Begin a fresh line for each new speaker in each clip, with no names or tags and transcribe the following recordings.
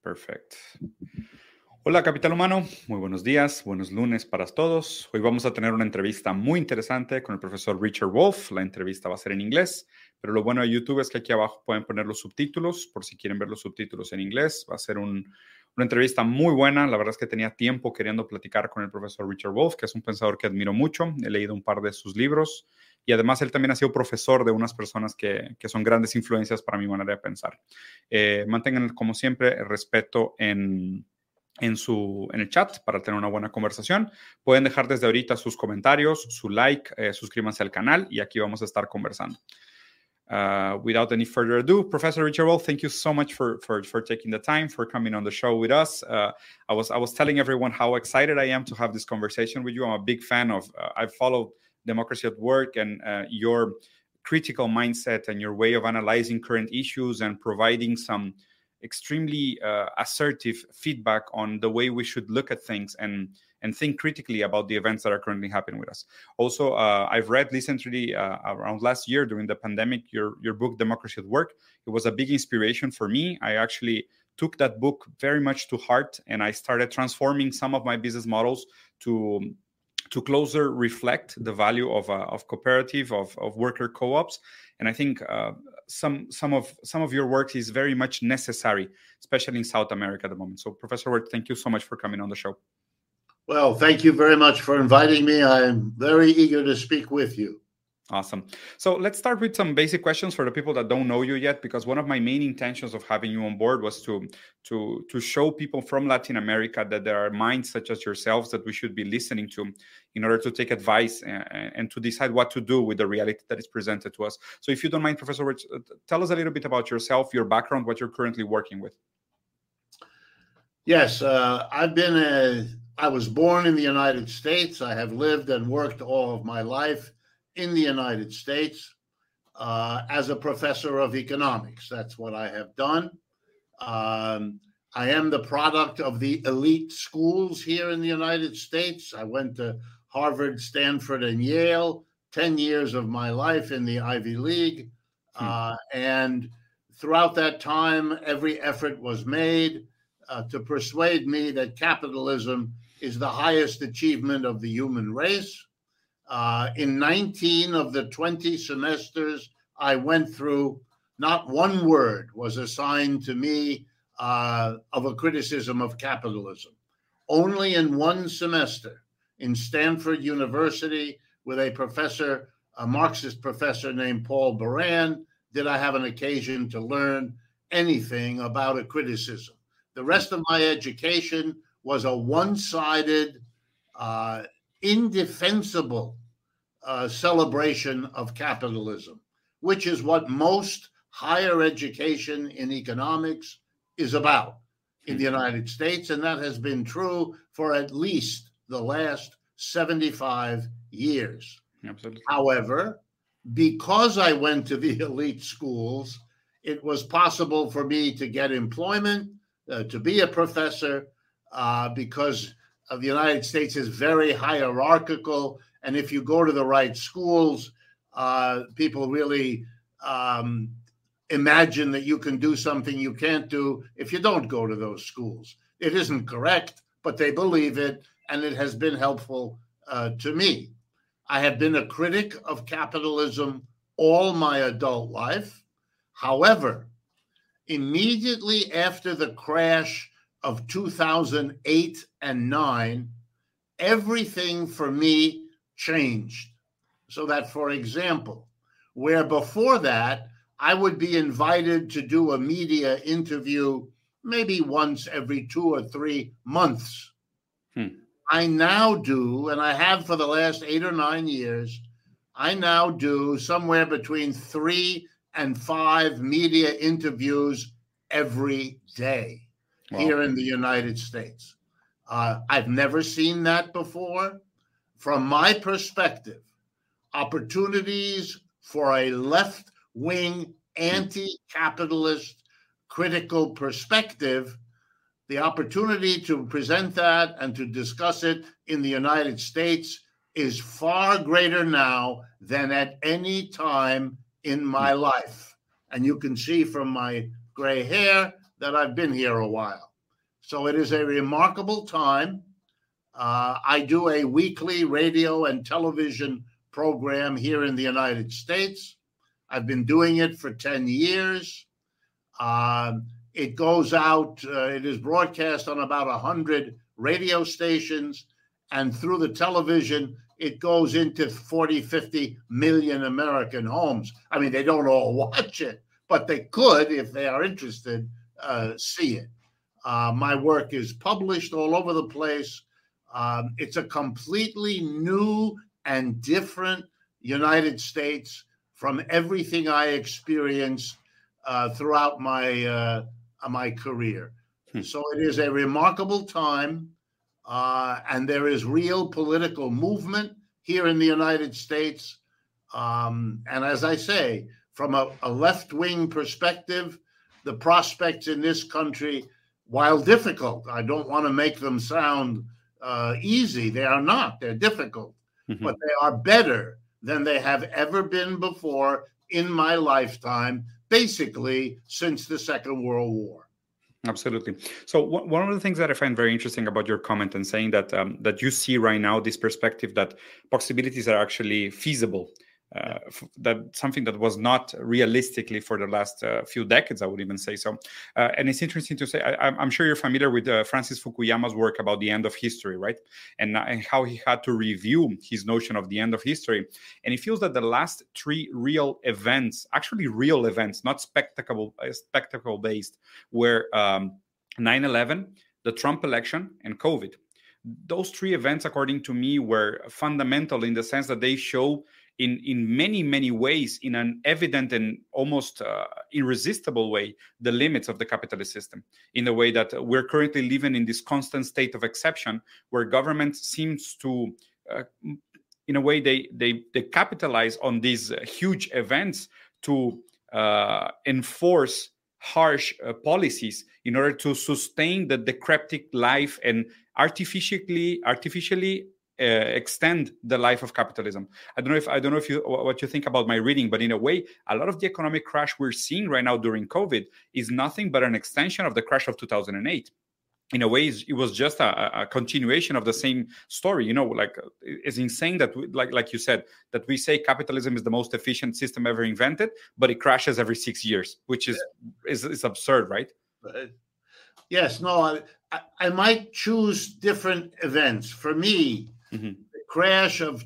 Perfecto. Hola, Capital Humano. Muy buenos días, buenos lunes para todos. Hoy vamos a tener una entrevista muy interesante con el profesor Richard Wolff. La entrevista va a ser en inglés, pero lo bueno de YouTube es que aquí abajo pueden poner los subtítulos por si quieren ver los subtítulos en inglés. Va a ser una entrevista muy buena. La verdad es que tenía tiempo queriendo platicar con el profesor Richard Wolff, que es un pensador que admiro mucho. He leído un par de sus libros y además él también ha sido profesor de unas personas que son grandes influencias para mi manera de pensar. Mantengan, como siempre, el respeto en el chat para tener una buena conversación. Pueden dejar desde ahorita sus comentarios, su like, suscríbanse al canal y aquí vamos a estar conversando. Without any further ado, Professor Richard Wolff, thank you so much for taking the time, for coming on the show with us. I was telling everyone how excited I am to have this conversation with you. I'm a big fan of, I've followed Democracy at Work and your critical mindset and your way of analyzing current issues and providing some extremely assertive feedback on the way we should look at things and think critically about the events that are currently happening with us. Also, I've read recently, around last year during the pandemic, your book, Democracy at Work. It was a big inspiration for me. I actually took that book very much to heart, and I started transforming some of my business models to closer reflect the value of cooperative, of worker co-ops. And I think some of your work is very much necessary, especially in South America at the moment. So, Professor Wolff, thank you so much for coming on the show.
Well, thank you very much for inviting me. I'm very eager to speak with you.
Awesome. So let's start with some basic questions for the people that don't know you yet, because one of my main intentions of having you on board was to show people from Latin America that there are minds such as yourselves that we should be listening to in order to take advice and to decide what to do with the reality that is presented to us. So if you don't mind, Professor Rich, tell us a little bit about yourself, your background, what you're currently working with.
Yes, I was born in the United States. I have lived and worked all of my life in the United States as a professor of economics. That's what I have done. I am the product of the elite schools here in the United States. I went to Harvard, Stanford, and Yale, 10 years of my life in the Ivy League. And throughout that time, every effort was made to persuade me that capitalism is the highest achievement of the human race. In 19 of the 20 semesters I went through, not one word was assigned to me of a criticism of capitalism. Only in one semester in Stanford University with a Marxist professor named Paul Baran, did I have an occasion to learn anything about a criticism. The rest of my education was a one-sided, indefensible celebration of capitalism, which is what most higher education in economics is about in the United States, and that has been true for at least the last 75 years.
Absolutely.
However, because I went to the elite schools, it was possible for me to get employment, to be a professor, because the United States is very hierarchical. And if you go to the right schools, people really imagine that you can do something you can't do if you don't go to those schools. It isn't correct, but they believe it, and it has been helpful to me. I have been a critic of capitalism all my adult life. However, immediately after the crash of 2008 and 9, everything for me changed. So that, for example, where before that, I would be invited to do a media interview maybe once every 2 or 3 months. I now do, and I have for the last 8 or 9 years, I now do somewhere between 3 and 5 media interviews every day. Wow. Here in the United States. I've never seen that before. From my perspective, opportunities for a left-wing, anti-capitalist, critical perspective, the opportunity to present that and to discuss it in the United States is far greater now than at any time in my life. And you can see from my gray hair that I've been here a while. So it is a remarkable time. I do a weekly radio and television program here in the United States. I've been doing it for 10 years. It goes out, it is broadcast on about 100 radio stations, and through the television, it goes into 40, 50 million American homes. I mean, they don't all watch it, but they could, if they are interested, see it. My work is published all over the place. It's a completely new and different United States from everything I experienced throughout my career. So it is a remarkable time, and there is real political movement here in the United States. And as I say, from a left-wing perspective, the prospects in this country, while difficult, I don't want to make them sound easy. They are not. They're difficult, but they are better than they have ever been before in my lifetime, basically since the Second World War.
Absolutely. So one of the things that I find very interesting about your comment and saying that that you see right now this perspective that possibilities are actually feasible, that something that was not realistically for the last few decades, I would even say so. And it's interesting to say, I'm sure you're familiar with Francis Fukuyama's work about the end of history, right? And how he had to review his notion of the end of history. And he feels that the last three real events, actually real events, not spectacle based, were 9/11, the Trump election, and COVID. Those three events, according to me, were fundamental in the sense that they show in many, many ways, in an evident and almost irresistible way, the limits of the capitalist system, in the way that we're currently living in this constant state of exception where government seems to, in a way, they capitalize on these huge events to enforce harsh policies in order to sustain the decrepit life and artificially extend the life of capitalism. I don't know if what you think about my reading, but in a way, a lot of the economic crash we're seeing right now during COVID is nothing but an extension of the crash of 2008. In a way, it was just a continuation of the same story. You know, like it's insane that, like you said, that we say capitalism is the most efficient system ever invented, but it crashes every 6 years, which is absurd, right?
Yes, no, I might choose different events. For me, the crash of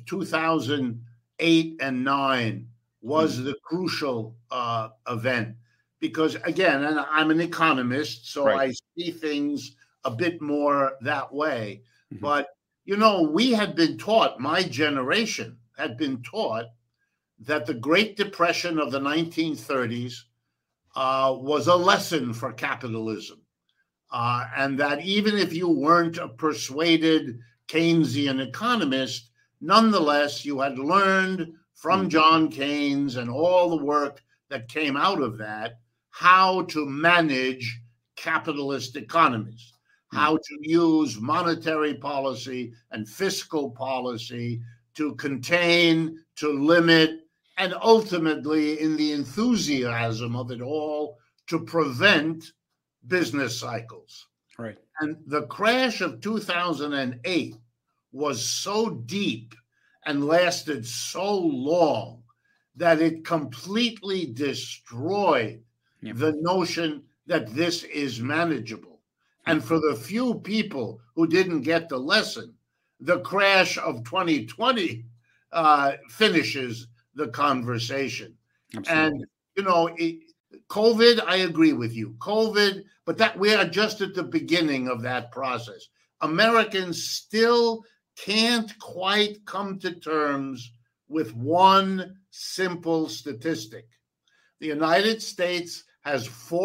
2008 and 9 was the crucial event because, again, and I'm an economist, so I see things a bit more that way. But, you know, we had been taught, my generation had been taught that the Great Depression of the 1930s was a lesson for capitalism. And that even if you weren't a persuaded Keynesian economist, nonetheless, you had learned from John Keynes and all the work that came out of that, how to manage capitalist economies, how to use monetary policy and fiscal policy to contain, to limit, and ultimately, in the enthusiasm of it all, to prevent business cycles.
Right.
And the crash of 2008 was so deep and lasted so long that it completely destroyed the notion that this is manageable. And for the few people who didn't get the lesson, the crash of 2020 finishes the conversation. Absolutely. And, you know, COVID, I agree with you. COVID, but that we are just at the beginning of that process. Americans still can't quite come to terms with one simple statistic. The United States has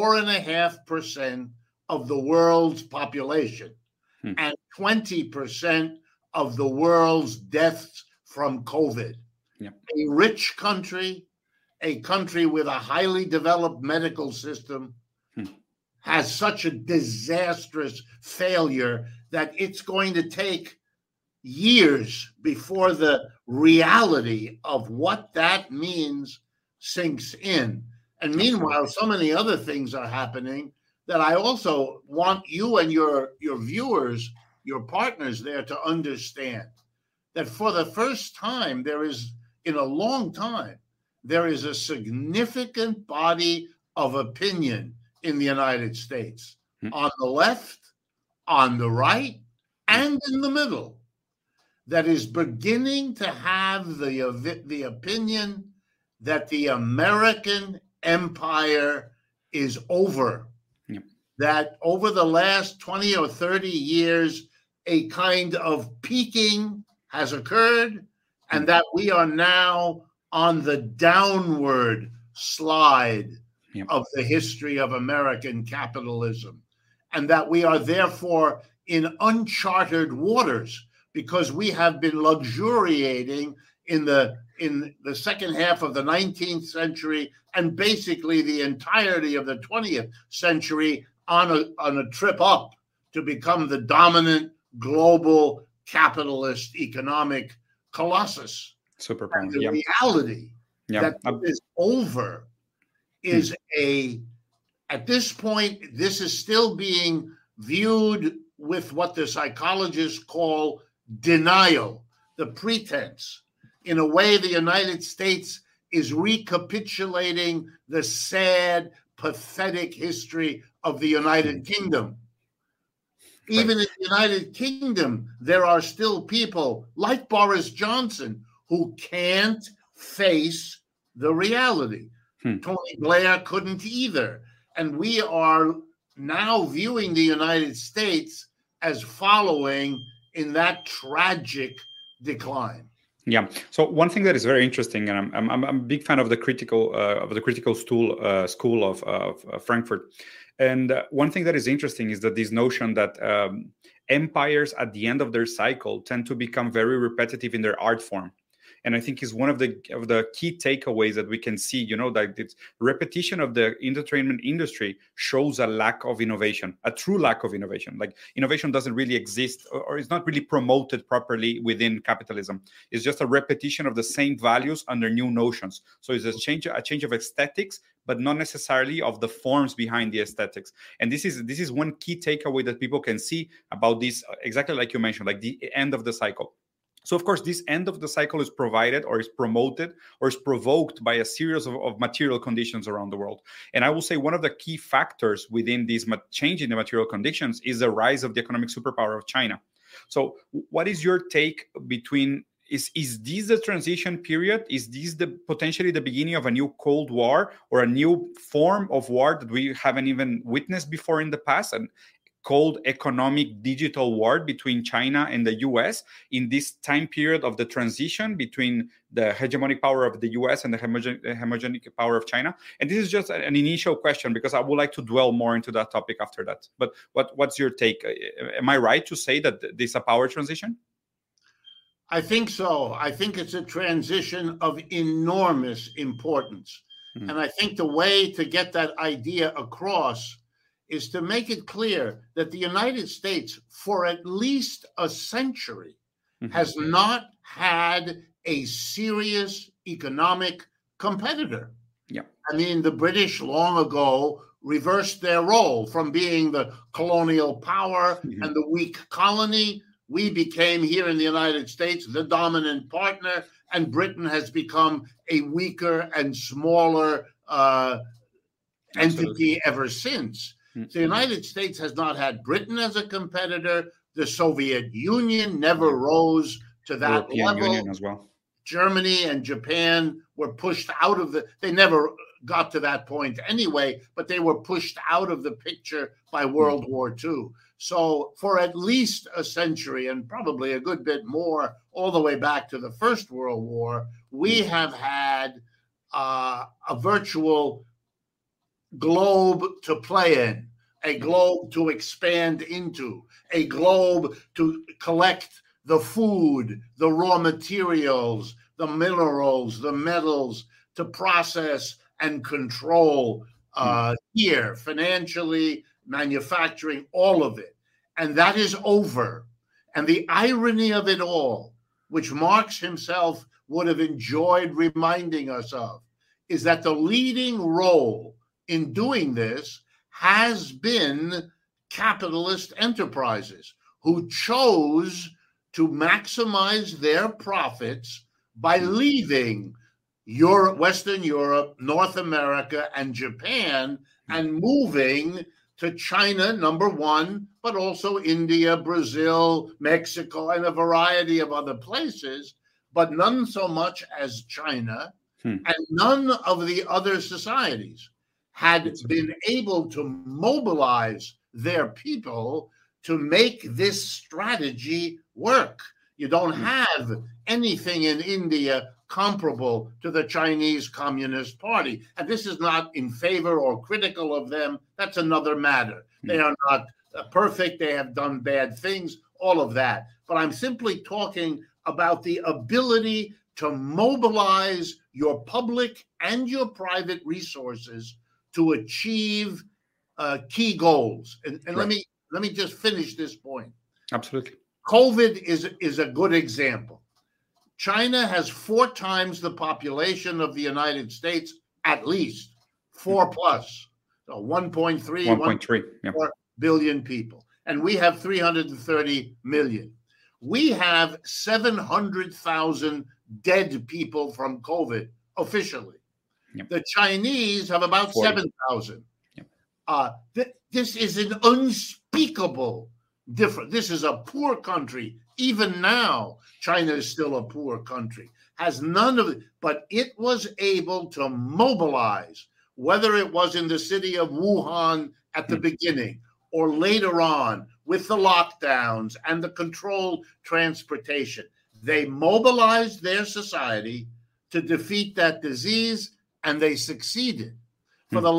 4.5% of the world's population and 20% of the world's deaths from COVID. A rich country, a country with a highly developed medical system, has such a disastrous failure that it's going to take years before the reality of what that means sinks in. And meanwhile, so many other things are happening that I also want you and your viewers, your partners there, to understand that for the first time, in a long time, there is a significant body of opinion in the United States, on the left, on the right, and in the middle, that is beginning to have the opinion that the American empire is over. Yep. That over the last 20 or 30 years, a kind of peaking has occurred, and that we are now on the downward slide of the history of American capitalism, and that we are therefore in uncharted waters because we have been luxuriating in the second half of the 19th century and basically the entirety of the 20th century on a trip up to become the dominant global capitalist economic colossus.
Superpower.
And the reality that this is over is at this point, this is still being viewed with what the psychologists call denial, the pretense. In a way, the United States is recapitulating the sad, pathetic history of the United Kingdom. Even in the United Kingdom, there are still people like Boris Johnson who can't face the reality. Tony Blair couldn't either. And we are now viewing the United States as following in that tragic decline.
Yeah. So one thing that is very interesting, and I'm a big fan of the critical school of Frankfurt. And one thing that is interesting is that this notion that empires at the end of their cycle tend to become very repetitive in their art form. And I think is one of the key takeaways that we can see, that it's repetition of the entertainment industry shows a lack of innovation, a true lack of innovation. Like innovation doesn't really exist or is not really promoted properly within capitalism. It's just a repetition of the same values under new notions. So it's a change of aesthetics, but not necessarily of the forms behind the aesthetics. And this is one key takeaway that people can see about this, exactly like you mentioned, like the end of the cycle. So, of course, this end of the cycle is provided or is promoted or is provoked by a series of material conditions around the world. And I will say one of the key factors within this change in the material conditions is the rise of the economic superpower of China. So what is your take between, is this the transition period? Is this potentially the beginning of a new Cold War or a new form of war that we haven't even witnessed before in the past? And called economic digital war between China and the US in this time period of the transition between the hegemonic power of the US and the hegemonic power of China. And this is just an initial question because I would like to dwell more into that topic after that. But what's your take? Am I right to say that this is a power transition?
I think so. I think it's a transition of enormous importance. Mm-hmm. And I think the way to get that idea across is to make it clear that the United States, for at least a century, has not had a serious economic competitor.
Yeah.
I mean, the British long ago reversed their role from being the colonial power and the weak colony. We became here in the United States the dominant partner, and Britain has become a weaker and smaller entity ever since. The United States has not had Britain as a competitor. The Soviet Union never rose to that level.
Union as well.
Germany and Japan were pushed out of they never got to that point anyway, but they were pushed out of the picture by World War II. So for at least a century and probably a good bit more, all the way back to the First World War, we have had a virtual globe to play in, a globe to expand into, a globe to collect the food, the raw materials, the minerals, the metals, to process and control here, financially, manufacturing, all of it. And that is over. And the irony of it all, which Marx himself would have enjoyed reminding us of, is that the leading role in doing this has been capitalist enterprises who chose to maximize their profits by leaving Europe, Western Europe, North America, and Japan, and moving to China, number one, but also India, Brazil, Mexico, and a variety of other places, but none so much as China, and none of the other societies had been able to mobilize their people to make this strategy work. You don't have anything in India comparable to the Chinese Communist Party. And this is not in favor or critical of them. That's another matter. They are not perfect. They have done bad things, all of that. But I'm simply talking about the ability to mobilize your public and your private resources to achieve key goals. And right. let me just finish this point.
Absolutely.
COVID is a good example. China has 4 times the population of the United States, at least 4 plus, so 1.3 billion people. And we have 330 million. We have 700,000 dead people from COVID officially. Yep. The Chinese have about 7,000. Yep. This is an unspeakable difference. This is a poor country. Even now, China is still a poor country. Has none of it, but it was able to mobilize, whether it was in the city of Wuhan at the beginning or later on with the lockdowns and the controlled transportation. They mobilized their society to defeat that disease, and they succeeded. For the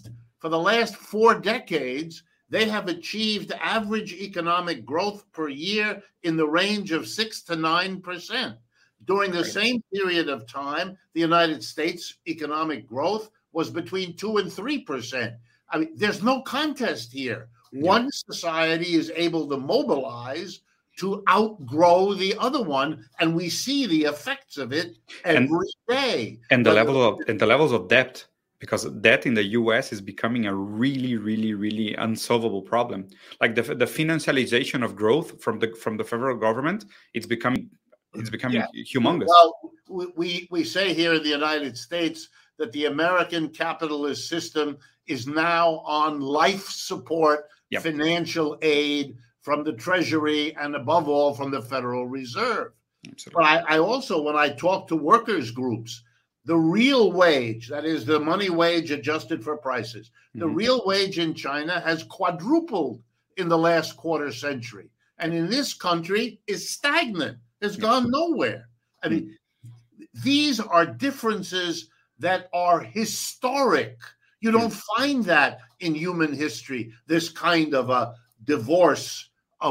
last 4 decades, they have achieved average economic growth per year in the range of 6 to 9%. During the same period of time, the United States economic growth was between 2 and 3%. I mean, there's no contest here. One society is able to mobilize to outgrow the other one, and we see the effects of it every day.
And the levels of debt, because debt in the US is becoming a really, really, really unsolvable problem. Like the financialization of growth from the federal government, it's becoming humongous.
Well, we say here in the United States that the American capitalist system is now on life support, financial aid from the Treasury, and above all from the Federal Reserve. Absolutely. But I also, when I talk to workers groups, the real wage, that is the money wage adjusted for prices, the real wage in China has quadrupled in the last quarter century. And in this country is stagnant. It's gone nowhere. I mean, these are differences that are historic. You don't find that in human history, this kind of a divorce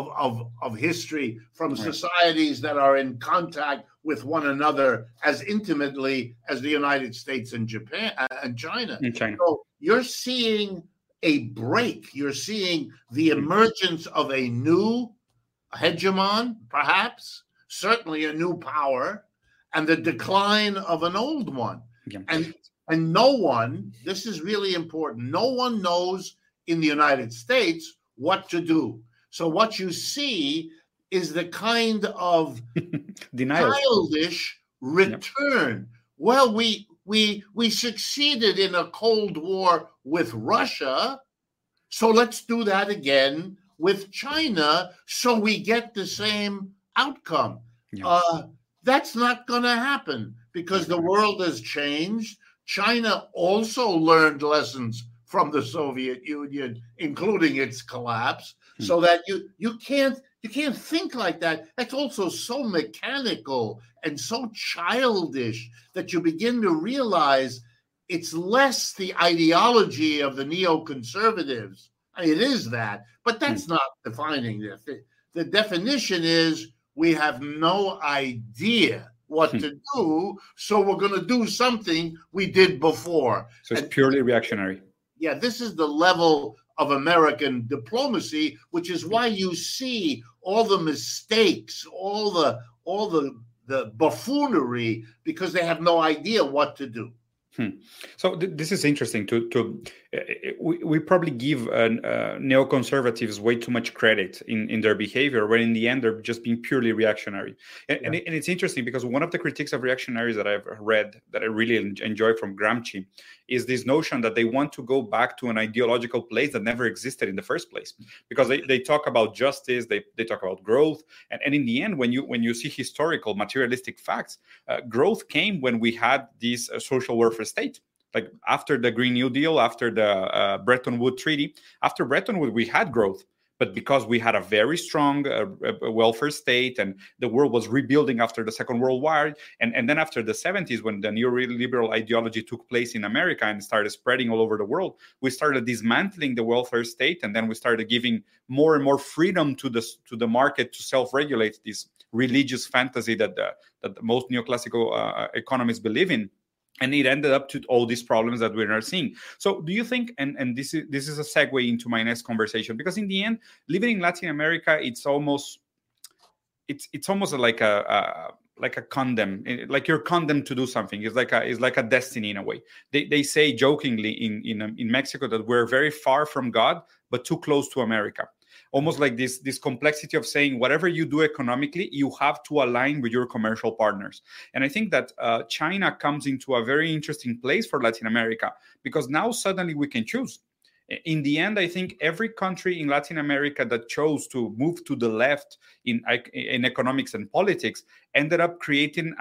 of history from societies that are in contact with one another as intimately as the United States and Japan and China. So you're seeing a break. You're seeing the emergence of a new hegemon, perhaps, certainly a new power, and the decline of an old one. And no one, this is really important, no one knows in the United States what to do. So what you see is the kind of childish return. Well, we succeeded in a Cold War with Russia, so let's do that again with China so we get the same outcome. That's not going to happen because the world has changed. China also learned lessons from the Soviet Union, including its collapse, so that you can't think like that. That's also so mechanical and so childish that you begin to realize it's less the ideology of the neoconservatives. I mean, it is that, but that's not defining this. The definition is we have no idea what to do, so we're going to do something we did before.
So it's purely reactionary.
Yeah, this is the level of American diplomacy, which is why you see all the mistakes, all the buffoonery, because they have no idea what to do.
So this is interesting. We probably give neoconservatives way too much credit in their behavior, when in the end they're just being purely reactionary. And it's interesting because one of the critiques of reactionaries that I've read that I really enjoy from Gramsci is this notion that they want to go back to an ideological place that never existed in the first place, because they talk about justice, they talk about growth, and in the end, when you see historical materialistic facts, growth came when we had this social welfare state. Like after the Green New Deal, after the Bretton Woods Treaty, after Bretton Woods, we had growth. But because we had a very strong welfare state, and the world was rebuilding after the Second World War, and then after the 70s, when the neoliberal ideology took place in America and started spreading all over the world, we started dismantling the welfare state, and then we started giving more and more freedom to the market to self-regulate this religious fantasy that most neoclassical economists believe in. And it ended up to all these problems that we're now seeing. So do you think, and this is a segue into my next conversation, because in the end, living in Latin America, it's almost like a condemn, like you're condemned to do something. It's like a destiny in a way. They say jokingly in Mexico that we're very far from God, but too close to America. Almost like this complexity of saying whatever you do economically, you have to align with your commercial partners. And I think that China comes into a very interesting place for Latin America, because now suddenly we can choose. In the end, I think every country in Latin America that chose to move to the left in economics and politics ended up creating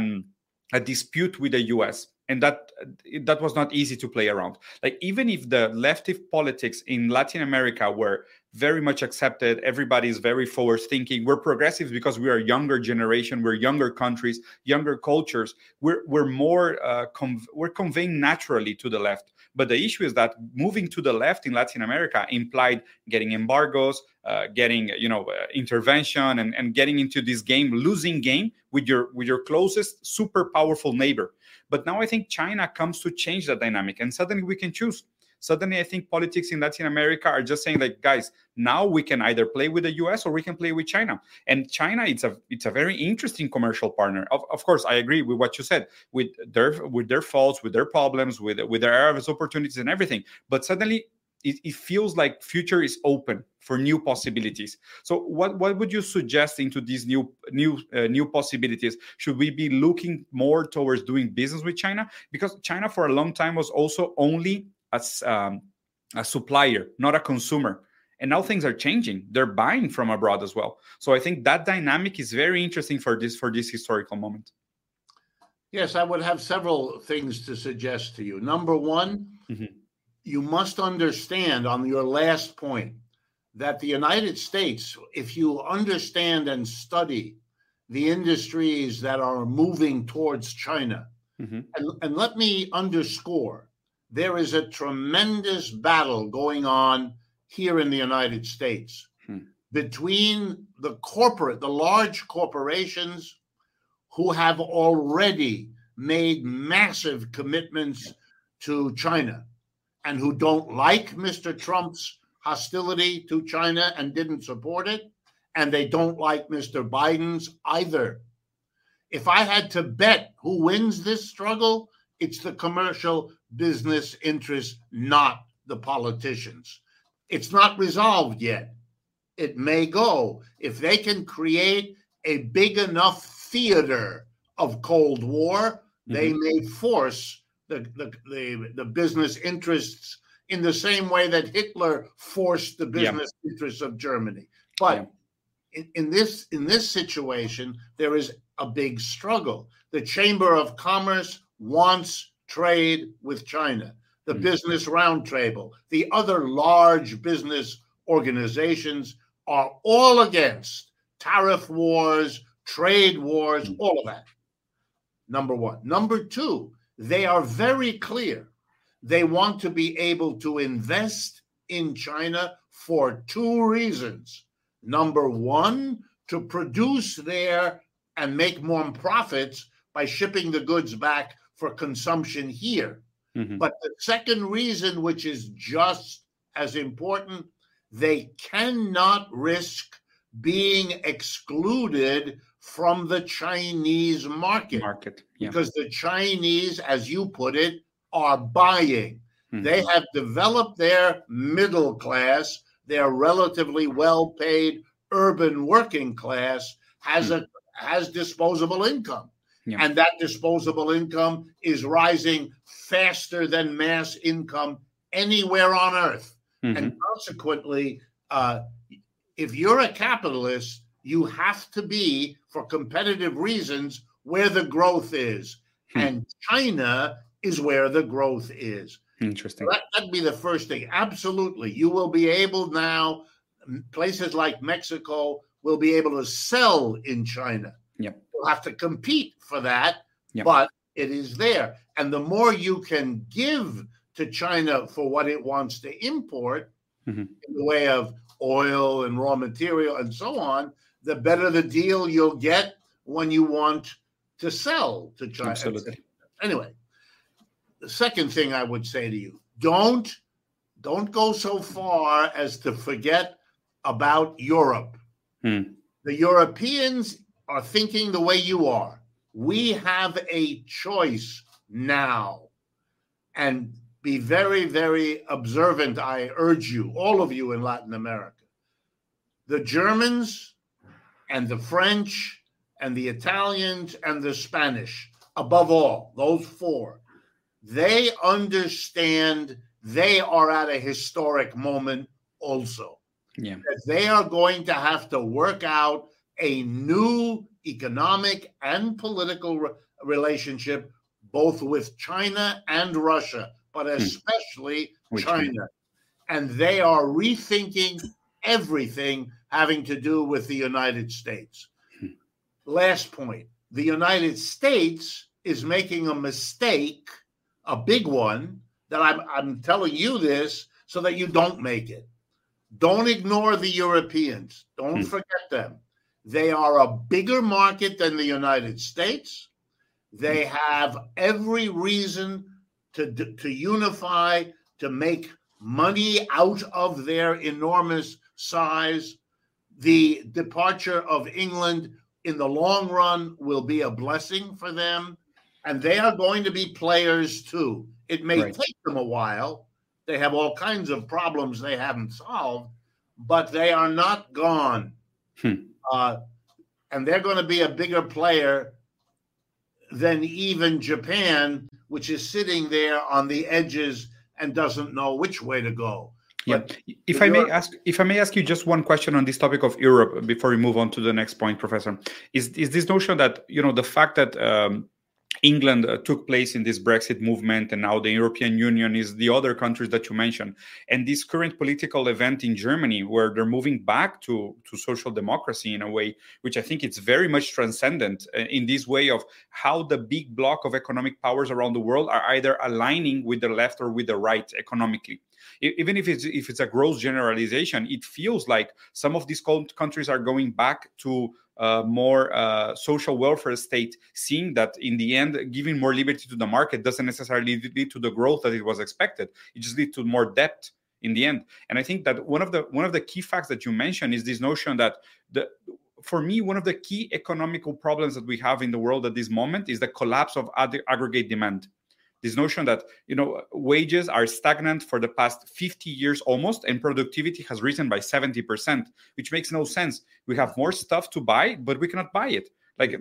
a dispute with the US. And that was not easy to play around. Like, even if the leftist politics in Latin America were very much accepted, everybody is very forward thinking. We're progressives because we are a younger generation, we're younger countries, younger cultures. We're more we're conveying naturally to the left. But the issue is that moving to the left in Latin America implied getting embargoes, getting intervention, and getting into this losing game with your closest super powerful neighbor. But now I think China comes to change that dynamic, and suddenly we can choose. Suddenly, I think politics in Latin America are just saying, like, guys, now we can either play with the US or we can play with China. And China, it's a very interesting commercial partner. Of course, I agree with what you said, with their faults, with their problems, with their areas of opportunities and everything. But suddenly, it feels like future is open for new possibilities. So what would you suggest into these new possibilities? Should we be looking more towards doing business with China? Because China for a long time was also only a supplier, not a consumer. And now things are changing. They're buying from abroad as well. So I think that dynamic is very interesting for this historical moment.
Yes, I would have several things to suggest to you. Number one, you must understand on your last point that the United States, if you understand and study the industries that are moving towards China, and let me underscore, there is a tremendous battle going on here in the United States between the large corporations who have already made massive commitments to China and who don't like Mr. Trump's hostility to China and didn't support it, and they don't like Mr. Biden's either. If I had to bet who wins this struggle, it's the commercial business interests, not the politicians. It's not resolved yet. It may go. If they can create a big enough theater of Cold War, they may force the business interests in the same way that Hitler forced the business interests of Germany. But in this situation, there is a big struggle. The Chamber of Commerce wants trade with China. The Business Roundtable, the other large business organizations are all against tariff wars, trade wars, all of that. Number one. Number two, they are very clear. They want to be able to invest in China for two reasons. Number one, to produce there and make more profits by shipping the goods back for consumption here. But the second reason, which is just as important, they cannot risk being excluded from the Chinese market. Because the Chinese, as you put it, are buying. They have developed their middle class, their relatively well-paid urban working class has disposable income. And that disposable income is rising faster than mass income anywhere on earth. And consequently, if you're a capitalist, you have to be, for competitive reasons, where the growth is. And China is where the growth is.
Interesting.
So that'd be the first thing. Absolutely. You will be able now, places like Mexico will be able to sell in China. You'll have to compete for that, but it is there. And the more you can give to China for what it wants to import in the way of oil and raw material and so on, the better the deal you'll get when you want to sell to China.
Absolutely.
Anyway, the second thing I would say to you, don't go so far as to forget about Europe. The Europeans are thinking the way you are. We have a choice now. And be very, very observant, I urge you, all of you in Latin America. The Germans and the French and the Italians and the Spanish, above all, those four, they understand they are at a historic moment also. That they are going to have to work out a new economic and political relationship, both with China and Russia, but especially China. And they are rethinking everything having to do with the United States. Last point, the United States is making a mistake, a big one, that I'm telling you this so that you don't make it. Don't ignore the Europeans. Don't forget them. They are a bigger market than the United States. They have every reason to unify, to make money out of their enormous size. The departure of England in the long run will be a blessing for them, and they are going to be players too. It may take them a while. They have all kinds of problems they haven't solved, but they are not gone. And they're going to be a bigger player than even Japan, which is sitting there on the edges and doesn't know which way to go.
But if I may ask you just one question on this topic of Europe before we move on to the next point, Professor, is this notion that, the fact that England took place in this Brexit movement, and now the European Union is the other countries that you mentioned, and this current political event in Germany where they're moving back to social democracy in a way, which I think it's very much transcendent in this way of how the big block of economic powers around the world are either aligning with the left or with the right economically. Even if it's a gross generalization, it feels like some of these countries are going back to more social welfare state, seeing that in the end, giving more liberty to the market doesn't necessarily lead to the growth that it was expected. It just leads to more debt in the end. And I think that one of the key facts that you mentioned is this notion that for me, one of the key economical problems that we have in the world at this moment is the collapse of aggregate demand. This notion that, wages are stagnant for the past 50 years almost, and productivity has risen by 70%, which makes no sense. We have more stuff to buy, but we cannot buy it.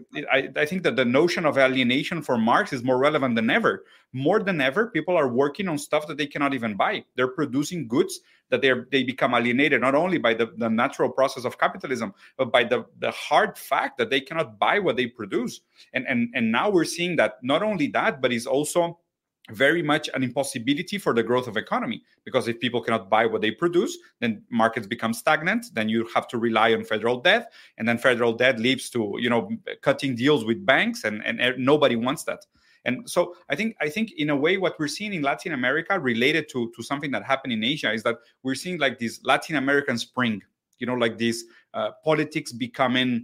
I think that the notion of alienation for Marx is more relevant than ever. More than ever, people are working on stuff that they cannot even buy. They're producing goods that they become alienated, not only by the natural process of capitalism, but by the hard fact that they cannot buy what they produce. And now we're seeing that not only that, but it's also very much an impossibility for the growth of economy, because if people cannot buy what they produce, then markets become stagnant. Then you have to rely on federal debt, and then federal debt leads to cutting deals with banks, and nobody wants that. And so I think in a way what we're seeing in Latin America related to something that happened in Asia is that we're seeing like this Latin American spring, like this politics becoming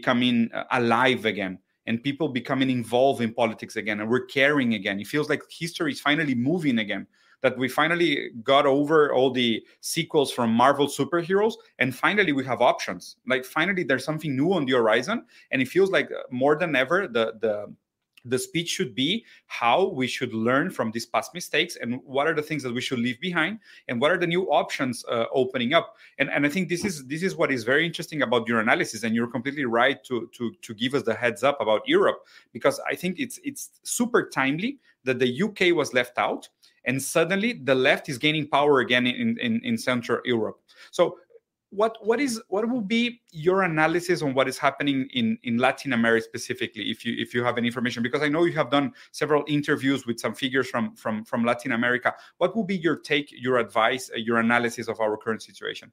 alive again. And people becoming involved in politics again, and we're caring again. It feels like history is finally moving again. that we finally got over all the sequels from Marvel superheroes, and finally we have options. Like finally there's something new on the horizon, and it feels like more than ever the speech should be how we should learn from these past mistakes, and what are the things that we should leave behind, and what are the new options opening up. And I think this is what is very interesting about your analysis, and you're completely right to give us the heads up about Europe, because I think it's super timely that the UK was left out, and suddenly the left is gaining power again in Central Europe. So what will be your analysis on what is happening in Latin America specifically, if you have any information? Because I know you have done several interviews with some figures from Latin America. What will be your take, your advice, your analysis of our current situation?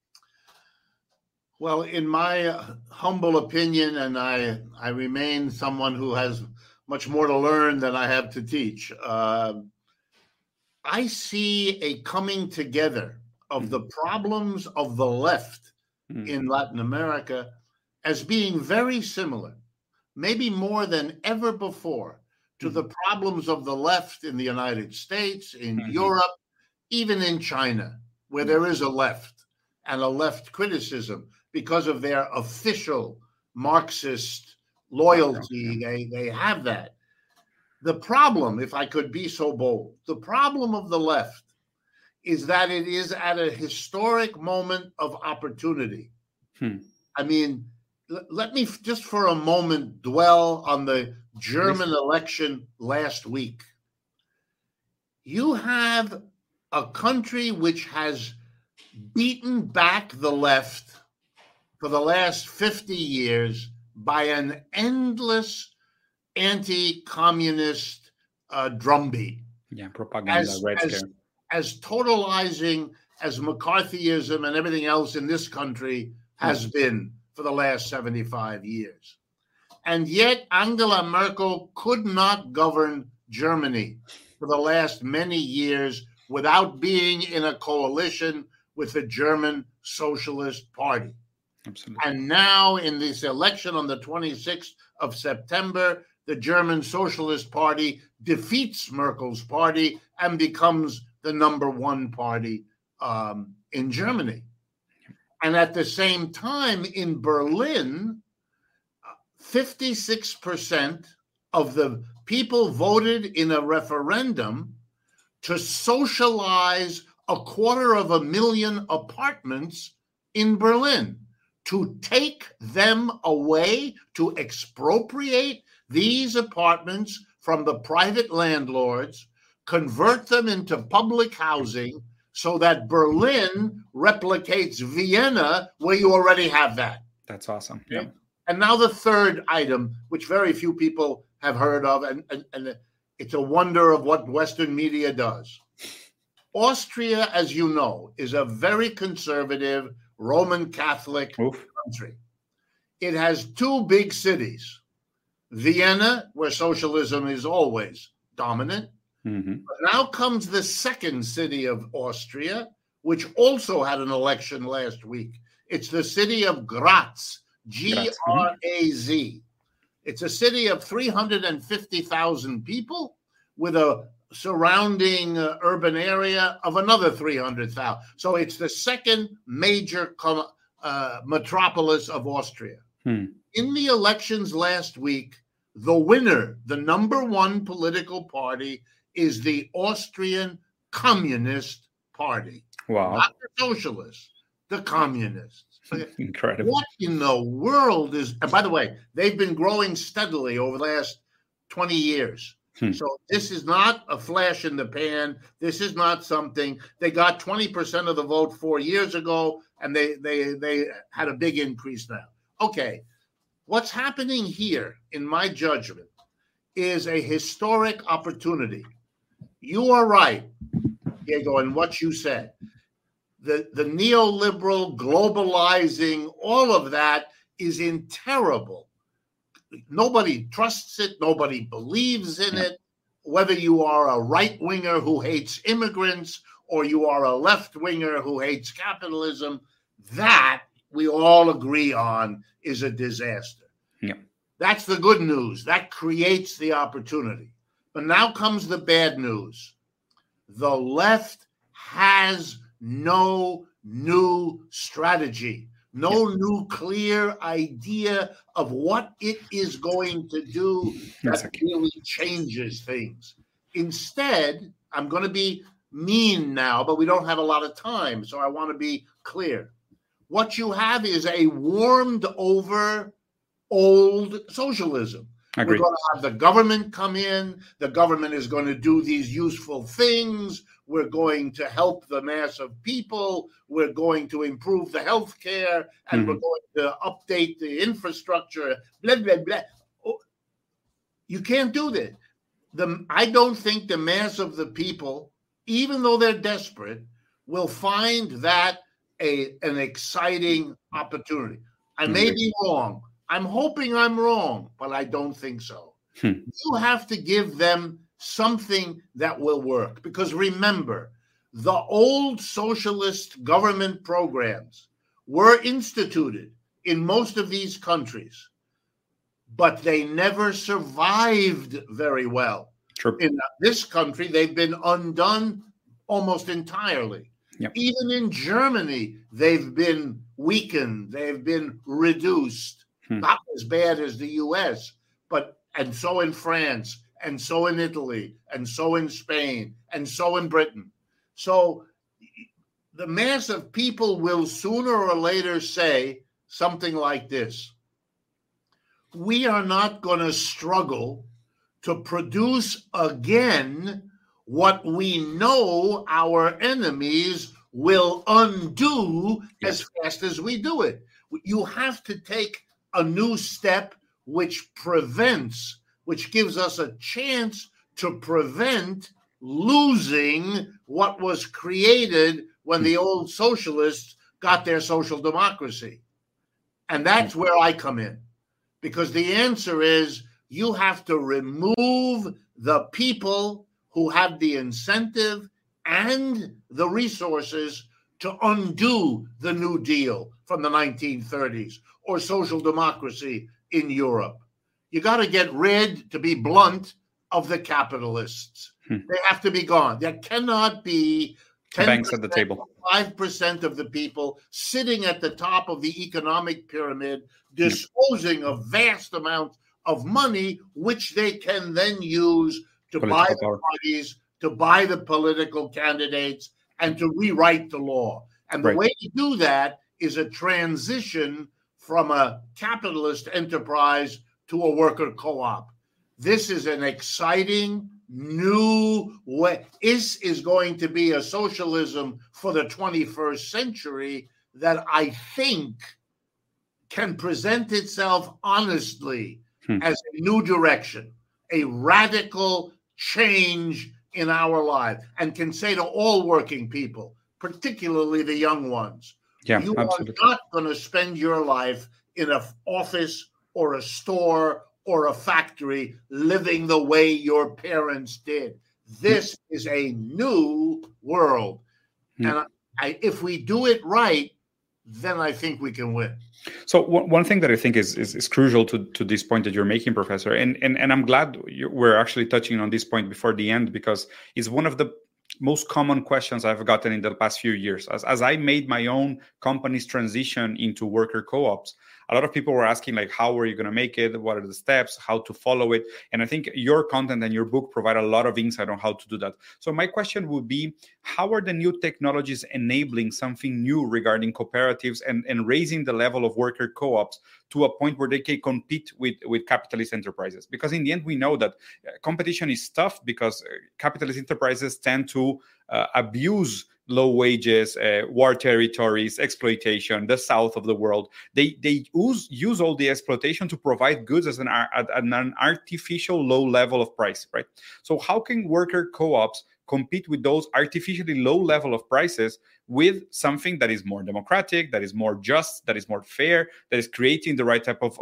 Well, in my humble opinion, and I remain someone who has much more to learn than I have to teach, I see a coming together of the problems of the left in Latin America as being very similar, maybe more than ever before, to the problems of the left in the United States, in Europe, even in China, where there is a left and a left criticism because of their official Marxist loyalty. They have that. The problem, if I could be so bold, the problem of the left is that it is at a historic moment of opportunity. I mean, let me just for a moment dwell on the German election last week. You have a country which has beaten back the left for the last 50 years by an endless anti-communist drumbeat.
Yeah, propaganda, red scare.
As totalizing as McCarthyism and everything else in this country has been for the last 75 years. And yet Angela Merkel could not govern Germany for the last many years without being in a coalition with the German Socialist Party.
Absolutely.
And now in this election on the 26th of September, the German Socialist Party defeats Merkel's party and becomes the number one party in Germany. And at the same time, in Berlin, 56% of the people voted in a referendum to socialize 250,000 apartments in Berlin, to take them away, to expropriate these apartments from the private landlords, convert them into public housing so that Berlin replicates Vienna, where you already have that.
That's awesome. Yeah.
And now the third item, which very few people have heard of, and it's a wonder of what Western media does. Austria, as you know, is a very conservative Roman Catholic country. It has two big cities, Vienna, where socialism is always dominant. But now comes the second city of Austria, which also had an election last week. It's the city of Graz, G-R-A-Z. It's a city of 350,000 people with a surrounding urban area of another 300,000. So it's the second major metropolis of Austria. In the elections last week, the winner, the number one political party, is the Austrian Communist Party.
Wow.
Not the socialists, the communists.
Incredible.
What in the world is, and by the way, they've been growing steadily over the last 20 years. So this is not a flash in the pan. This is not something, they got 20% of the vote 4 years ago, and they had a big increase now. Okay, what's happening here, in my judgment, is a historic opportunity. You are right, Diego, in what you said. The neoliberal, globalizing, all of that is in terrible. Nobody trusts it. Nobody believes in it. Whether you are a right-winger who hates immigrants or you are a left-winger who hates capitalism, that we all agree on is a disaster.
Yeah.
That's the good news. That creates the opportunity. But now comes the bad news. The left has no new strategy, no new clear idea of what it is going to do that really changes things. Instead, I'm going to be mean now, but we don't have a lot of time, so I want to be clear. What you have is a warmed over old socialism.
Agreed.
We're going to have the government come in. The government is going to do these useful things. We're going to help the mass of people. We're going to improve the health care, and we're going to update the infrastructure, blah, blah, blah. You can't do that. I don't think the mass of the people, even though they're desperate, will find that an exciting opportunity. I may be wrong. I'm hoping I'm wrong, but I don't think so. You have to give them something that will work. Because remember, the old socialist government programs were instituted in most of these countries, but they never survived very well.
Sure.
In this country, they've been undone almost entirely.
Yep.
Even in Germany, they've been weakened. They've been reduced. Not as bad as the U.S., and so in France, and so in Italy, and so in Spain, and so in Britain. So the mass of people will sooner or later say something like this: we are not going to struggle to produce again what we know our enemies will undo as fast as we do it. You have to take a new step which prevents, which gives us a chance to prevent losing what was created when the old socialists got their social democracy. And that's where I come in, because the answer is you have to remove the people who have the incentive and the resources to undo the New Deal from the 1930s or social democracy in Europe. You got to get rid, to be blunt, of the capitalists. They have to be gone. There cannot be 10%
banks at the table,
5% of the people sitting at the top of the economic pyramid, disposing of vast amounts of money, which they can then use to buy the parties, to buy the political candidates, and to rewrite the law. And the way to do that is a transition from a capitalist enterprise to a worker co-op. This is an exciting new way. This is going to be a socialism for the 21st century that I think can present itself honestly as a new direction, a radical change in our lives, and can say to all working people, particularly the young ones, you absolutely are not going to spend your life in an office or a store or a factory living the way your parents did. This is a new world. And if we do it right, then I think we can win.
So one thing that I think is crucial to this point that you're making, Professor, and I'm glad we're actually touching on this point before the end, because it's one of the most common questions I've gotten in the past few years. As I made my own company's transition into worker co-ops, a lot of people were asking, like, how are you going to make it? What are the steps? How to follow it? And I think your content and your book provide a lot of insight on how to do that. So my question would be, how are the new technologies enabling something new regarding cooperatives and raising the level of worker co-ops to a point where they can compete with capitalist enterprises? Because in the end, we know that competition is tough because capitalist enterprises tend to abuse low wages, war territories, exploitation, the south of the world. They use all the exploitation to provide goods at an artificial low level of price, right? So how can worker co-ops compete with those artificially low level of prices with something that is more democratic, that is more just, that is more fair, that is creating the right type of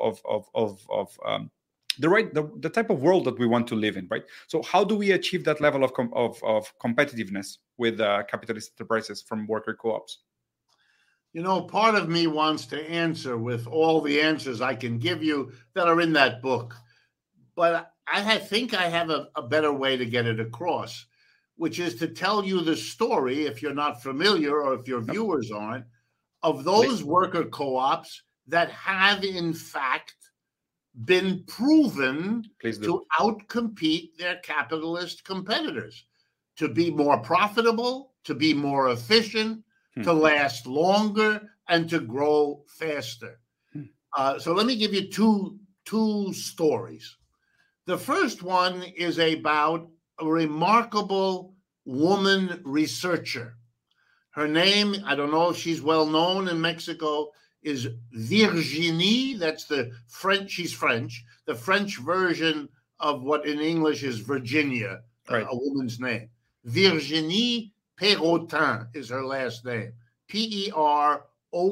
the type of world that we want to live in, right? So how do we achieve that level of competitiveness with capitalist enterprises from worker co-ops?
You know, part of me wants to answer with all the answers I can give you that are in that book, but I think I have a better way to get it across, which is to tell you the story, if you're not familiar or if your viewers aren't, of those worker co-ops that have in fact been proven to outcompete their capitalist competitors, to be more profitable, to be more efficient, to last longer, and to grow faster. So let me give you two stories. The first one is about a remarkable woman researcher. Her name, I don't know if she's well known in Mexico, is Virginie. That's the French, she's French, the French version of what in English is Virginia, right. A woman's name. Virginie Perrotin is her last name. Perotin,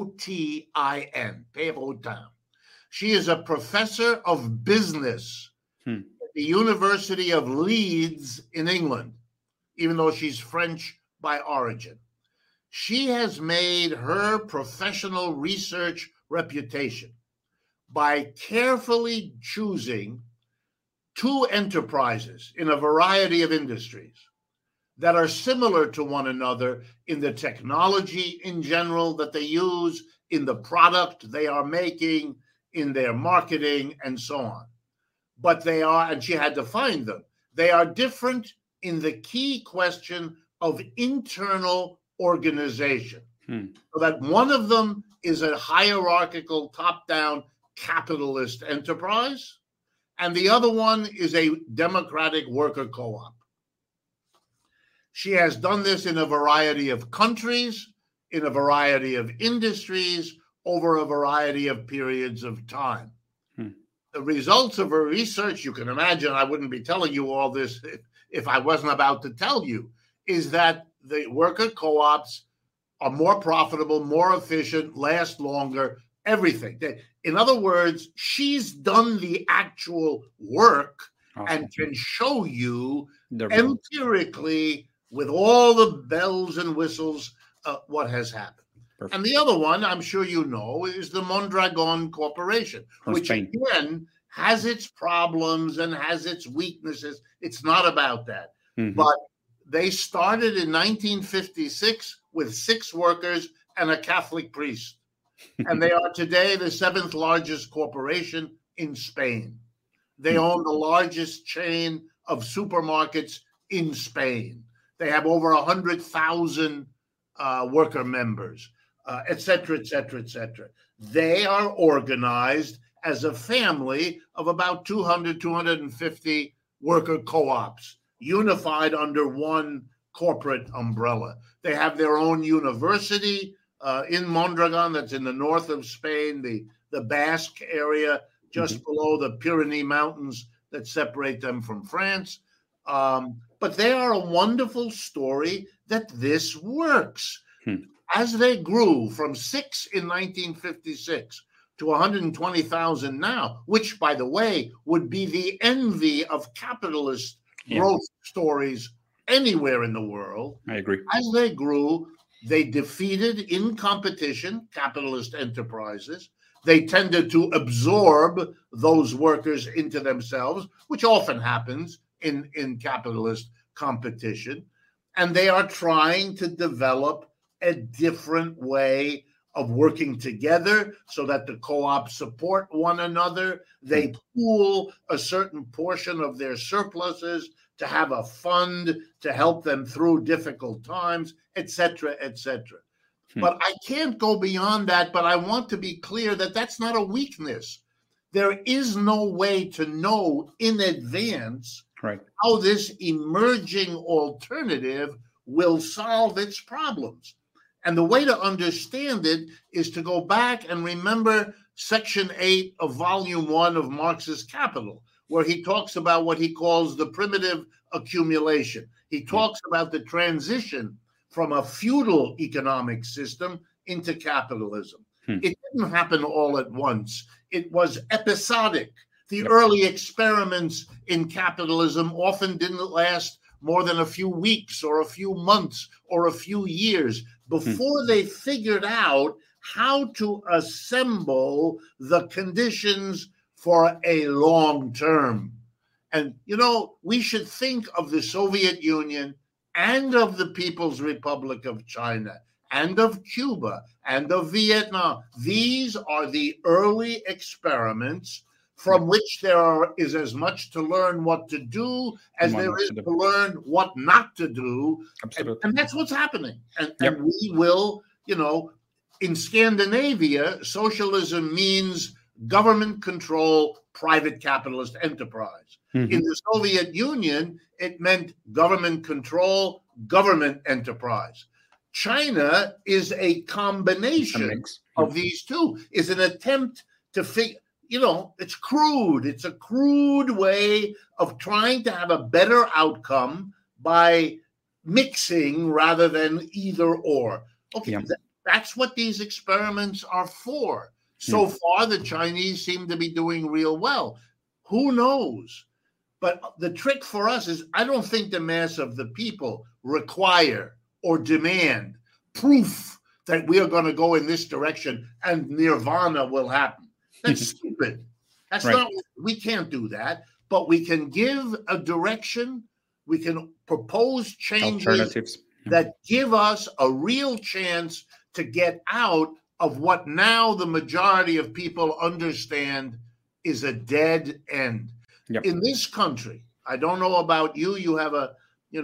Perrotin. She is a professor of business at the University of Leeds in England, even though she's French by origin. She has made her professional research reputation by carefully choosing two enterprises in a variety of industries that are similar to one another in the technology in general that they use, in the product they are making, in their marketing, and so on. But they are, and she had to find them, they are different in the key question of internal organization. So that one of them is a hierarchical, top-down capitalist enterprise, and the other one is a democratic worker co-op. She has done this in a variety of countries, in a variety of industries, over a variety of periods of time. The results of her research, you can imagine, I wouldn't be telling you all this if I wasn't about to tell you, is that the worker co-ops are more profitable, more efficient, last longer, everything. In other words, she's done the actual work and can show you empirically with all the bells and whistles what has happened. Perfect. And the other one, I'm sure you know, is the Mondragon Corporation, which again has its problems and has its weaknesses. It's not about that. But they started in 1956 with 6 workers and a Catholic priest. And they are today the 7th largest corporation in Spain. They own the largest chain of supermarkets in Spain. They have over 100,000 worker members, et cetera, et cetera, et cetera. They are organized as a family of about 200, 250 worker co-ops, unified under one corporate umbrella. They have their own university in Mondragon, that's in the north of Spain, the Basque area, just below the Pyrenees Mountains that separate them from France. But they are a wonderful story that this works. As they grew from 6 in 1956 to 120,000 now, which, by the way, would be the envy of capitalist growth stories anywhere in the world.
I agree.
As they grew, they defeated in competition capitalist enterprises. They tended to absorb those workers into themselves, which often happens in capitalist competition. And they are trying to develop a different way of working together so that the co-ops support one another. They pool a certain portion of their surpluses to have a fund to help them through difficult times, et cetera, et cetera. But I can't go beyond that, but I want to be clear that that's not a weakness. There is no way to know in advance how this emerging alternative will solve its problems. And the way to understand it is to go back and remember Section 8 of Volume 1 of Marx's Capital, where he talks about what he calls the primitive accumulation. He talks about the transition from a feudal economic system into capitalism. It didn't happen all at once. It was episodic. The early experiments in capitalism often didn't last more than a few weeks or a few months or a few years before they figured out how to assemble the conditions for a long term. And, you know, we should think of the Soviet Union and of the People's Republic of China and of Cuba and of Vietnam. These are the early experiments from which there is as much to learn what to do as there is to learn what not to do. And that's what's happening. And we will, in Scandinavia, socialism means government control, private capitalist enterprise. Mm-hmm. In the Soviet Union, it meant government control, government enterprise. China is a combination of these two, is an attempt to figure, it's crude. It's a crude way of trying to have a better outcome by mixing rather than either or. Okay, that's what these experiments are for. So far, the Chinese seem to be doing real well. Who knows? But the trick for us is I don't think the mass of the people require or demand proof that we are going to go in this direction and nirvana will happen. That's stupid. That's not, we can't do that, but we can give a direction. We can propose changes that give us a real chance to get out of what now the majority of people understand is a dead end. Yep. In this country, I don't know about you, you have a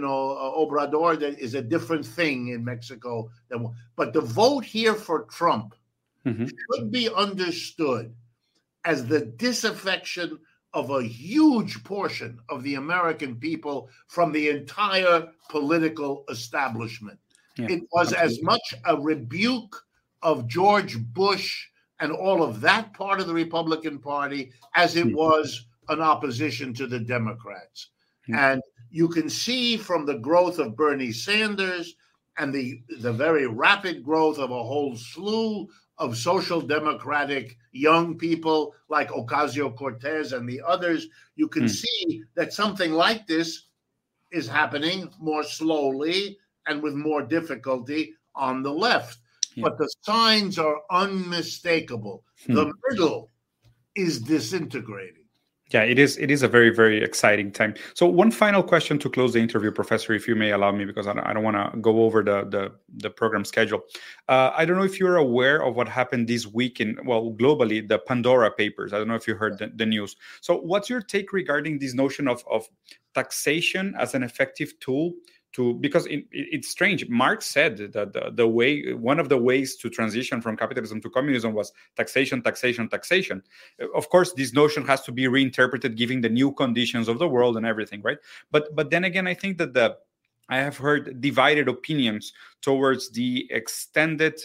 Obrador that is a different thing in Mexico. But the vote here for Trump should be understood as the disaffection of a huge portion of the American people from the entire political establishment. Yeah, it was as much a rebuke of George Bush and all of that part of the Republican Party as it was an opposition to the Democrats. And you can see from the growth of Bernie Sanders and the very rapid growth of a whole slew of social democratic young people like Ocasio-Cortez and the others, you can see that something like this is happening more slowly and with more difficulty on the left. But the signs are unmistakable. The middle is disintegrating.
Yeah, it is a very, very exciting time. So one final question to close the interview, Professor, if you may allow me, because I don't want to go over the program schedule. I don't know if you're aware of what happened this week globally, the Pandora Papers. I don't know if you heard the news. So what's your take regarding this notion of taxation as an effective tool? Because it's strange. Marx said that one of the ways to transition from capitalism to communism was taxation, taxation, taxation. Of course, this notion has to be reinterpreted given the new conditions of the world and everything, right? But then again, I think that I have heard divided opinions towards the extended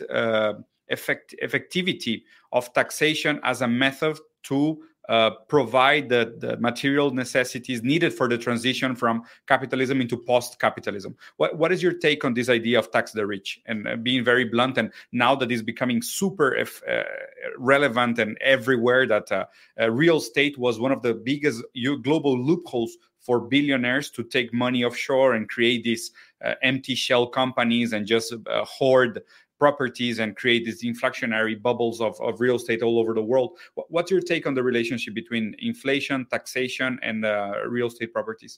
effectivity of taxation as a method to provide the material necessities needed for the transition from capitalism into post-capitalism. What is your take on this idea of tax the rich? And being very blunt, and now that it's becoming super relevant and everywhere, that real estate was one of the biggest global loopholes for billionaires to take money offshore and create these empty shell companies and just hoard properties and create these inflationary bubbles of real estate all over the world. What's your take on the relationship between inflation, taxation, and real estate properties?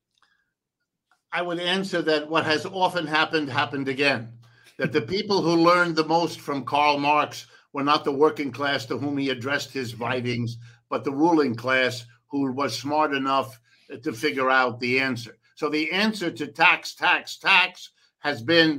I would answer that what has often happened again. That the people who learned the most from Karl Marx were not the working class to whom he addressed his writings, but the ruling class who was smart enough to figure out the answer. So the answer to tax has been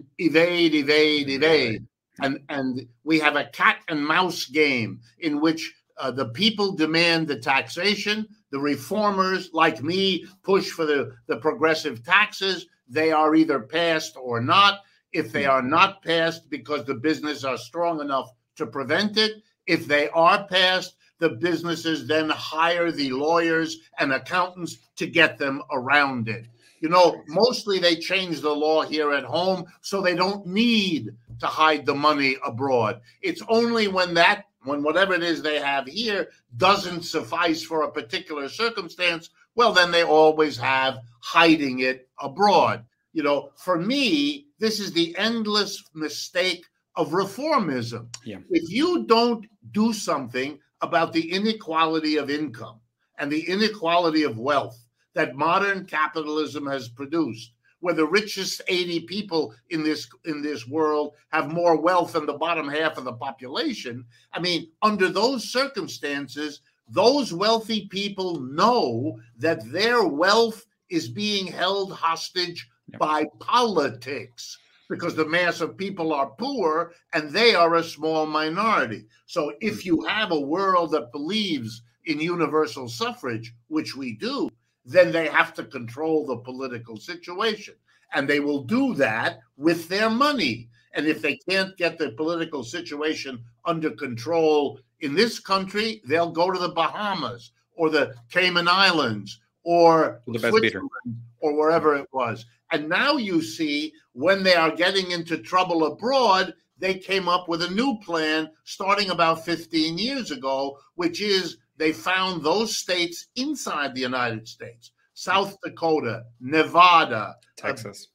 evade. And we have a cat and mouse game in which the people demand the taxation. The reformers, like me, push for the progressive taxes. They are either passed or not. If they are not passed because the businesses are strong enough to prevent it, if they are passed, the businesses then hire the lawyers and accountants to get them around it. Mostly they change the law here at home so they don't need to hide the money abroad. It's only when whatever it is they have here doesn't suffice for a particular circumstance, well, then they always have hiding it abroad. For me, this is the endless mistake of reformism. Yeah. If you don't do something about the inequality of income and the inequality of wealth that modern capitalism has produced, where the richest 80 people in this world have more wealth than the bottom half of the population. I mean, under those circumstances, those wealthy people know that their wealth is being held hostage by politics, because the mass of people are poor and they are a small minority. So if you have a world that believes in universal suffrage, which we do, then they have to control the political situation. And they will do that with their money. And if they can't get the political situation under control in this country, they'll go to the Bahamas or the Cayman Islands or Switzerland or wherever it was. And now you see, when they are getting into trouble abroad, they came up with a new plan starting about 15 years ago, which is they found those states inside the United States, South Dakota, Nevada,
Texas,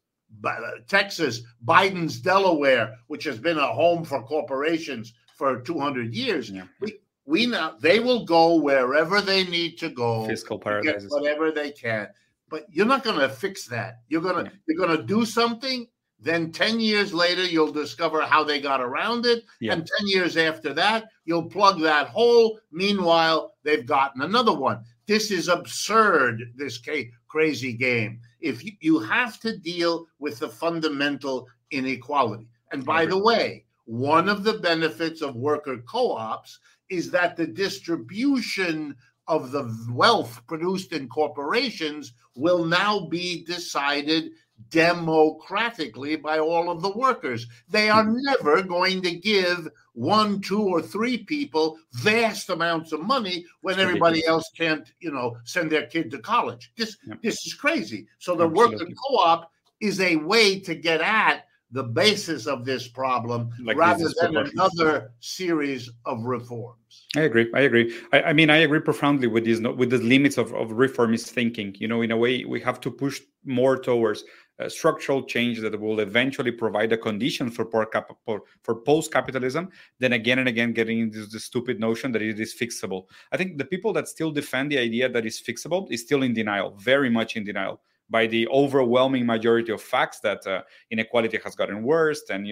Biden's Delaware, which has been a home for corporations for 200 years.
Yeah.
We now, they will go wherever they need to go,
fiscal paradises,
whatever they can. But you're not going to fix that. You're going to do something. Then 10 years later, you'll discover how they got around it. Yeah. And 10 years after that, you'll plug that hole. Meanwhile, they've gotten another one. This is absurd, this crazy game. If you have to deal with the fundamental inequality. And by the way, one of the benefits of worker co-ops is that the distribution of the wealth produced in corporations will now be decided democratically by all of the workers. They are never going to give 1, 2, or 3 people vast amounts of money when everybody else can't, send their kid to college. This is crazy. So the worker co-op is a way to get at the basis of this problem, rather than another series of reforms.
I agree. I mean, I agree profoundly with these, with the limits of reformist thinking. In a way, we have to push more towards structural change that will eventually provide a condition for post-capitalism, then again and again getting into the stupid notion that it is fixable. I think the people that still defend the idea that it's fixable is still in denial, very much in denial, by the overwhelming majority of facts that inequality has gotten worse, and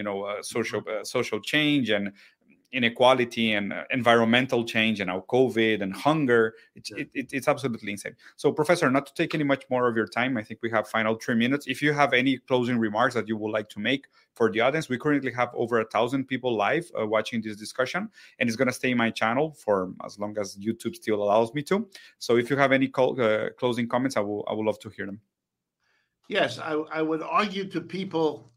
social change and inequality and environmental change, and now COVID and hunger. It's absolutely insane. So, Professor, not to take any much more of your time, I think we have final 3 minutes. If you have any closing remarks that you would like to make for the audience, we currently have over 1,000 people live watching this discussion, and it's going to stay in my channel for as long as YouTube still allows me to. So, if you have any closing comments, I would love to hear them.
Yes, I would argue to people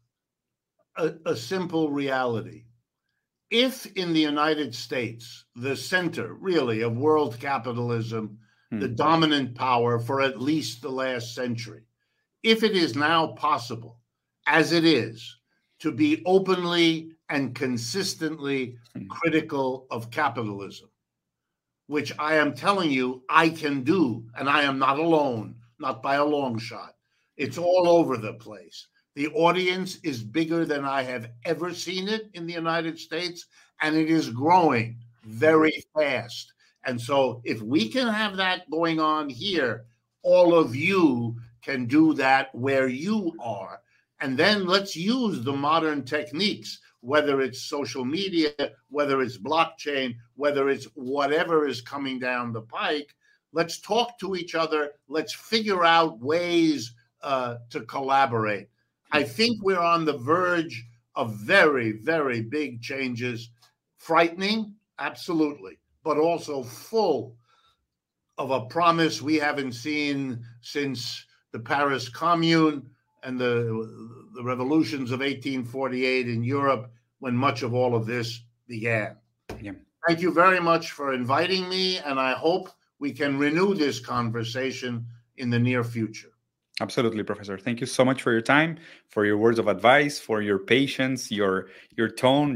a simple reality. If in the United States, the center really of world capitalism, the dominant power for at least the last century, if it is now possible, as it is, to be openly and consistently critical of capitalism, which I am telling you I can do, and I am not alone, not by a long shot. It's all over the place. The audience is bigger than I have ever seen it in the United States, and it is growing very fast. And so if we can have that going on here, all of you can do that where you are. And then let's use the modern techniques, whether it's social media, whether it's blockchain, whether it's whatever is coming down the pike. Let's talk to each other. Let's figure out ways to collaborate. I think we're on the verge of very, very big changes. Frightening, absolutely, but also full of a promise we haven't seen since the Paris Commune and the revolutions of 1848 in Europe, when much of all of this began. Yeah. Thank you very much for inviting me, and I hope we can renew this conversation in the near future.
Absolutely, Professor. Thank you so much for your time, for your words of advice, for your patience, your tone,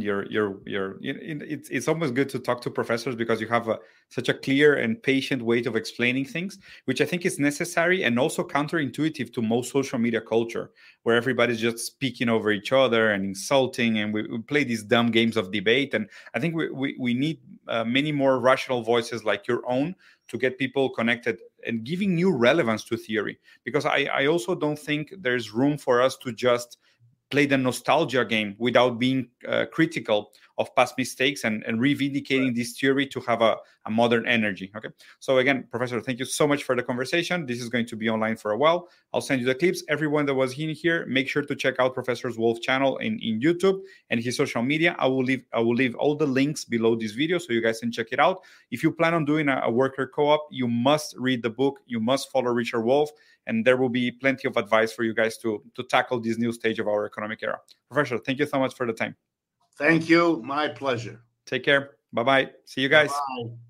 it's almost good to talk to professors because you have such a clear and patient way of explaining things, which I think is necessary and also counterintuitive to most social media culture, where everybody's just speaking over each other and insulting, and we play these dumb games of debate. And I think we need many more rational voices like your own to get people connected and giving new relevance to theory. Because I also don't think there's room for us to just play the nostalgia game without being critical of past mistakes and reivindicating this theory to have a modern energy. Okay. So again, Professor, thank you so much for the conversation. This is going to be online for a while. I'll send you the clips. Everyone that was in here, make sure to check out Professor Wolf's channel in YouTube and his social media. I will leave all the links below this video so you guys can check it out. If you plan on doing a worker co-op, you must read the book. You must follow Richard Wolf, and there will be plenty of advice for you guys to tackle this new stage of our economic era. Professor, thank you so much for the time.
Thank you. My pleasure.
Take care. Bye-bye. See you guys.
Bye-bye.